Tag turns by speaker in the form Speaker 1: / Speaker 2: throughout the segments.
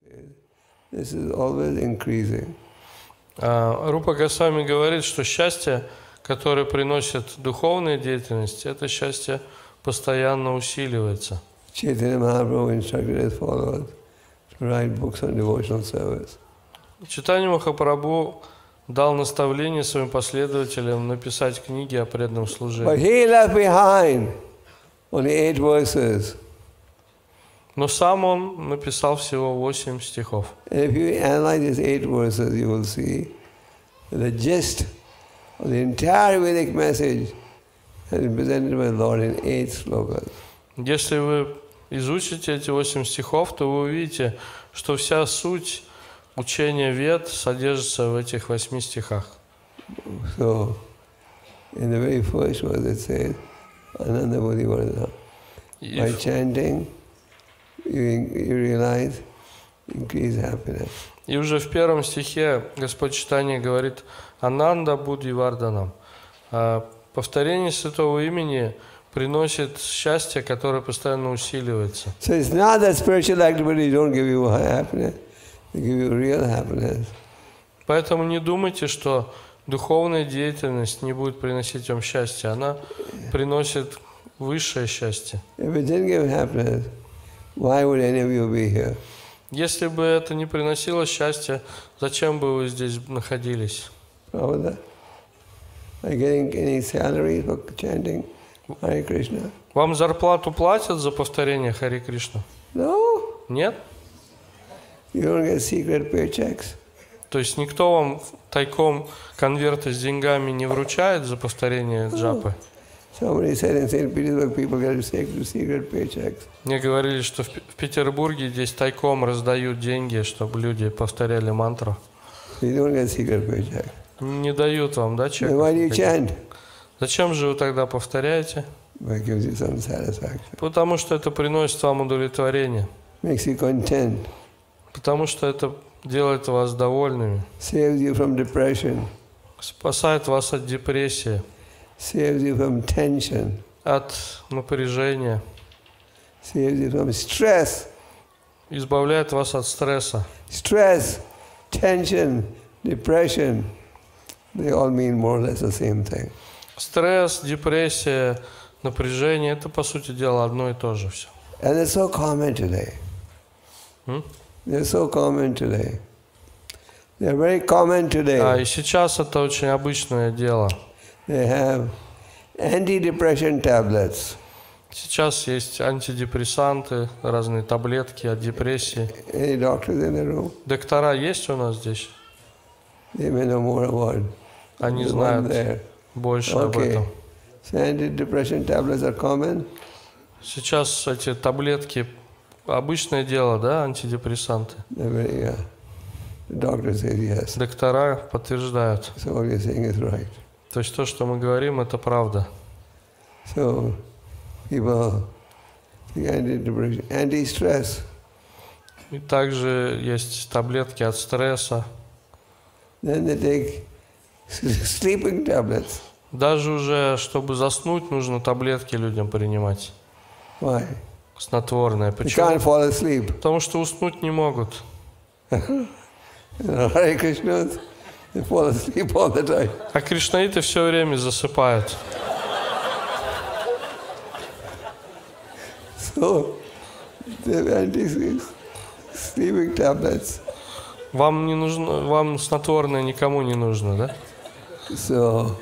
Speaker 1: This is always increasing.
Speaker 2: Рупа Госвами говорит, что счастье, которое приносит духовная деятельность, это счастье постоянно усиливается.
Speaker 1: Chaitanya Mahaprabhu instructed his followers to write books on devotional service.
Speaker 2: Чайтанья Махапрабху дал наставление своим последователям написать книги о преданном
Speaker 1: But
Speaker 2: служении.
Speaker 1: he left behind only 8 verses.
Speaker 2: Но сам он написал всего 8 стихов.
Speaker 1: And if you analyze these 8 verses, you will see that the gist of the entire Vedic message has been presented by the Lord in 8 slokas.
Speaker 2: Если вы изучите эти 8 стихов, то вы увидите, что вся суть учения Вед содержится в этих 8 стихах.
Speaker 1: So, in the very first verse it says, Ananda Bodhi Vardhana. By chanting, you realize increased happiness.
Speaker 2: И уже в первом стихе Господь Чайтанья говорит «Ананда Будхи Варданам». Повторение святого имени приносит счастье, которое постоянно усиливается.
Speaker 1: So it's not that spiritual activities don't give you happiness, they give you real happiness.
Speaker 2: Поэтому не думайте, что духовная деятельность не будет приносить вам счастье. Она приносит высшее счастье.
Speaker 1: If it didn't give happiness, why would any of you be here?
Speaker 2: Если бы это не приносило счастья, зачем бы вы здесь находились?
Speaker 1: Prabhupada? Are you getting any salary for chanting Hare Krishna?
Speaker 2: Вам зарплату платят за повторение Харе Кришна?
Speaker 1: No.
Speaker 2: Нет?
Speaker 1: You don't get secret paychecks.
Speaker 2: То есть никто вам тайком конверты с деньгами не вручает за повторение джапы?
Speaker 1: Somebody said in St. Petersburg people get secret paychecks.
Speaker 2: Мне говорили, что в Петербурге здесь тайком раздают деньги, чтобы люди повторяли мантру.
Speaker 1: You don't get secret paycheck.
Speaker 2: Не дают вам, да, чек?
Speaker 1: Then why do you chant?
Speaker 2: Зачем же вы тогда повторяете?
Speaker 1: It gives you some satisfaction.
Speaker 2: Потому что это приносит вам удовлетворение.
Speaker 1: Makes you content.
Speaker 2: Потому что это делает вас довольными.
Speaker 1: Saves you from depression.
Speaker 2: Спасает вас от депрессии.
Speaker 1: Saves you from tension.
Speaker 2: От напряжения.
Speaker 1: Saves you from stress.
Speaker 2: Избавляет вас от стресса.
Speaker 1: Stress, tension, depression, they all mean more or less the same thing.
Speaker 2: Стресс, депрессия, напряжение – это, по сути дела, одно и то же все.
Speaker 1: And it's so common today. They're so common today. They're very common today.
Speaker 2: И сейчас это очень обычное дело.
Speaker 1: They have antidepressant tablets.
Speaker 2: Сейчас есть антидепрессанты, разные таблетки от депрессии.
Speaker 1: Any doctors in the room?
Speaker 2: Доктора есть у нас здесь?
Speaker 1: They may know more about
Speaker 2: Они
Speaker 1: the one
Speaker 2: знают
Speaker 1: there.
Speaker 2: больше об
Speaker 1: Okay.
Speaker 2: этом.
Speaker 1: So antidepressant tablets are common.
Speaker 2: Сейчас эти таблетки обычное дело, да, антидепрессанты?
Speaker 1: They're very, the doctor says yes.
Speaker 2: Доктора подтверждают.
Speaker 1: So what you're saying is right.
Speaker 2: То есть то, что мы говорим, это правда.
Speaker 1: So people take antidepressant, anti-stress.
Speaker 2: И также есть таблетки от стресса.
Speaker 1: Then they take sleeping tablets.
Speaker 2: Даже уже, чтобы заснуть, нужно таблетки людям принимать.
Speaker 1: Why?
Speaker 2: Снотворное.
Speaker 1: You
Speaker 2: Почему?
Speaker 1: can't fall asleep.
Speaker 2: Потому что уснуть не могут.
Speaker 1: Hare Krishnas, they fall asleep all the time.
Speaker 2: А кришнаиты все время засыпают.
Speaker 1: So they have anti-sleeping tablets.
Speaker 2: Вам не нужно, вам снотворное никому не нужно, да?
Speaker 1: So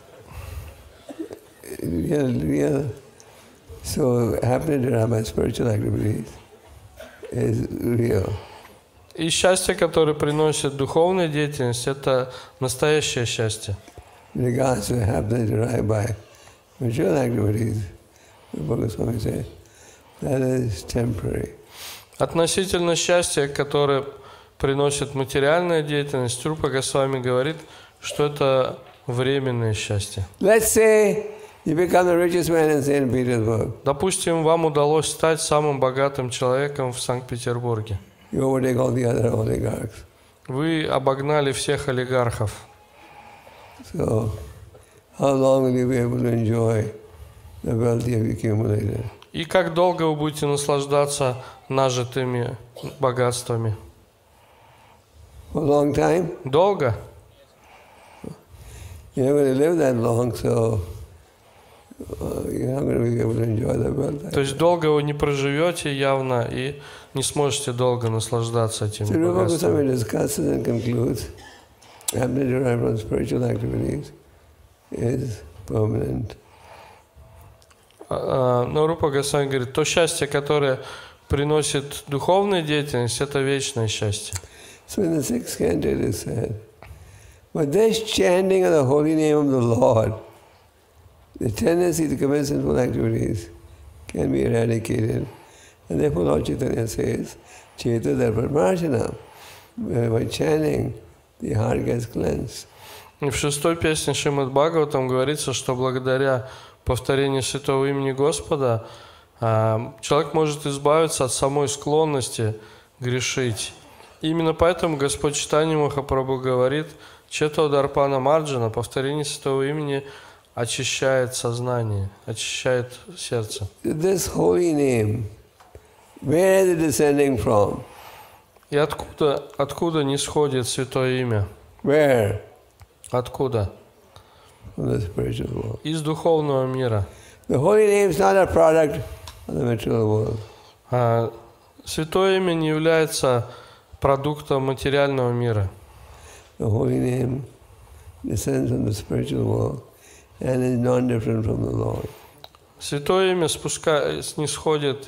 Speaker 1: so happening to have my spiritual activities is real.
Speaker 2: И счастье, которое приносит духовная деятельность, это настоящее счастье.
Speaker 1: In regards to happening to have by material activities, Rupa Goswami says, that is temporary.
Speaker 2: Относительно счастья, которое приносит материальная деятельность, Рупа Госвами говорит, что это временное счастье.
Speaker 1: Let's say you become the richest man in St. Petersburg.
Speaker 2: Допустим, вам удалось стать самым богатым человеком в Санкт-Петербурге.
Speaker 1: You overtake all the other oligarchs.
Speaker 2: Вы обогнали всех олигархов.
Speaker 1: So, how long will you be able to enjoy the wealth you have accumulated?
Speaker 2: И как долго вы будете наслаждаться нажитыми богатствами?
Speaker 1: For a long time?
Speaker 2: Долго?
Speaker 1: You're not going to live that long, so you're not going to be able to enjoy the world.
Speaker 2: То есть долго вы не проживете явно и не сможете долго наслаждаться этим
Speaker 1: So Rupa
Speaker 2: богатством.
Speaker 1: Goswami discusses and concludes, happening to run from spiritual activities is permanent.
Speaker 2: Но Рупа Госвами говорит, то счастье, которое приносит духовная деятельность, это вечное счастье.
Speaker 1: So in the 6th canto it is said, but this chanting of the holy name of the Lord, the tendency to commit sinful activities can be eradicated. And therefore Lord Chaitanya says, Cheta Darpamarjanam. By chanting, the heart gets cleansed.
Speaker 2: И в 6-й песне Шримад Бхагаватам говорится, что благодаря повторению святого имени Господа человек может избавиться от самой склонности грешить. И именно поэтому Господь Чайтанья Махапрабху говорит, Чето Дарпана Марджана, повторение святого имени очищает сознание, очищает сердце.
Speaker 1: This holy name, where is it descending from?
Speaker 2: И откуда нисходит святое имя?
Speaker 1: Where?
Speaker 2: Откуда?
Speaker 1: From the spiritual world.
Speaker 2: Из духовного мира.
Speaker 1: The holy name is not a product of the material world.
Speaker 2: Святое имя не является продуктом материального мира.
Speaker 1: The holy name descends from the spiritual world and is non-different from the Lord.
Speaker 2: Святое имя нисходит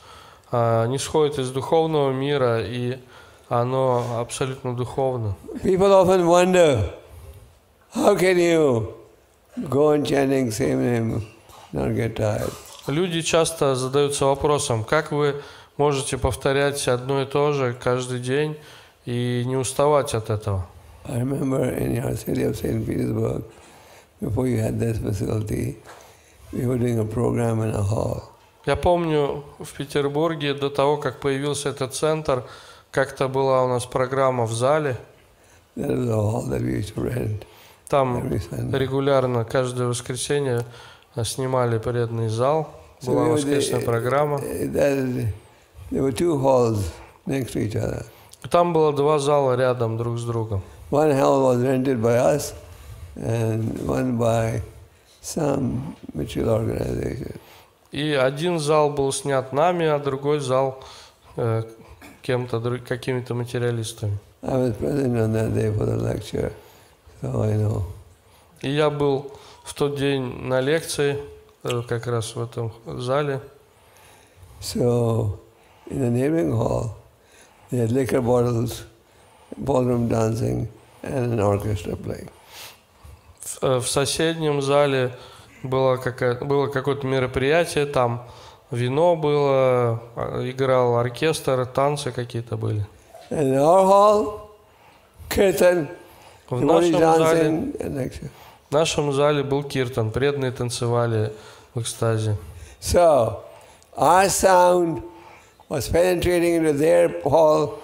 Speaker 2: из духовного мира, и оно абсолютно духовно.
Speaker 1: People often wonder, how can you go on chanting same name, not get tired?
Speaker 2: Люди часто задаются вопросом, как вы можете повторять одно и то же каждый день и не уставать от этого.
Speaker 1: I remember in your city of St. Petersburg, before you had this facility, we were doing a program in a hall.
Speaker 2: Я помню, в Петербурге до того, как появился этот центр, как-то была у нас программа в зале.
Speaker 1: That was a hall that we used to rent.
Speaker 2: Там регулярно, каждое воскресенье снимали преданный зал. Была воскресная программа.
Speaker 1: There were two halls next to each other.
Speaker 2: Там было два зала рядом друг с другом.
Speaker 1: One hall was rented by us and one by some material organization.
Speaker 2: И один зал был снят нами, а другой зал какими-то материалистами.
Speaker 1: I was present on that day for the lecture, so I know.
Speaker 2: И я был в тот день на лекции, как раз в этом зале.
Speaker 1: So, in the neighboring hall, they had liquor bottles, ballroom dancing, and an orchestra playing.
Speaker 2: В соседнем зале было какое-то мероприятие, там вино было, играл оркестр, танцы какие-то были.
Speaker 1: And in our hall, kirtan,
Speaker 2: В
Speaker 1: everybody dancing, and lecture.
Speaker 2: В нашем зале был киртан, преданные танцевали в экстазе.
Speaker 1: So, our sound was penetrating into their hall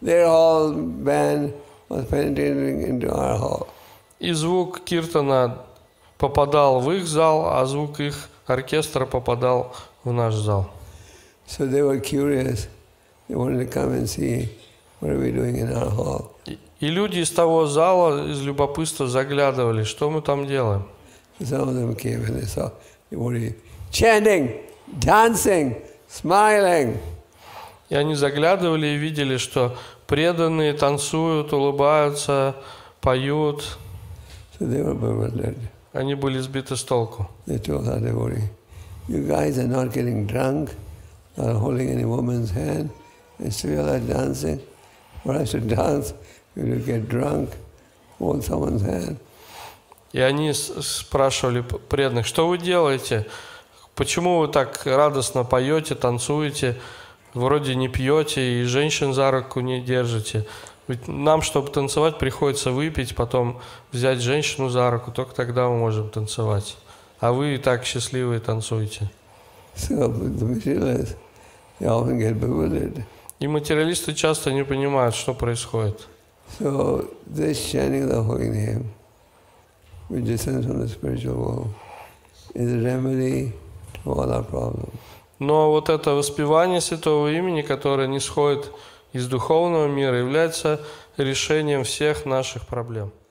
Speaker 1: band was penetrating into our hall.
Speaker 2: И звук киртана попадал в их зал, а звук их оркестра попадал в наш зал.
Speaker 1: So they were curious. They wanted to come and see what are we doing in our hall.
Speaker 2: И люди из того зала из любопытства заглядывали, что мы там делаем.
Speaker 1: Some of them came and they saw everybody chanting, dancing, smiling.
Speaker 2: И они заглядывали и видели, что преданные танцуют, улыбаются, поют.
Speaker 1: So they were bewildered.
Speaker 2: Они были сбиты с толку.
Speaker 1: They told our devotee, you guys are not getting drunk, not holding any woman's hand, and still are dancing. For us to dance, we will get drunk, hold someone's hand.
Speaker 2: И они спрашивали преданных, что вы делаете? Почему вы так радостно поете, танцуете, вроде не пьете и женщин за руку не держите? Ведь нам, чтобы танцевать, приходится выпить, потом взять женщину за руку, только тогда мы можем танцевать. А вы и так счастливые танцуете.
Speaker 1: So the materialists, they often get bewildered.
Speaker 2: И материалисты часто не понимают, что происходит.
Speaker 1: So this chanting of the holy name, which descends from the spiritual world, is a remedy to all our problems.
Speaker 2: Но вот это воспевание святого имени, которое нисходит из духовного мира является решением всех наших проблем.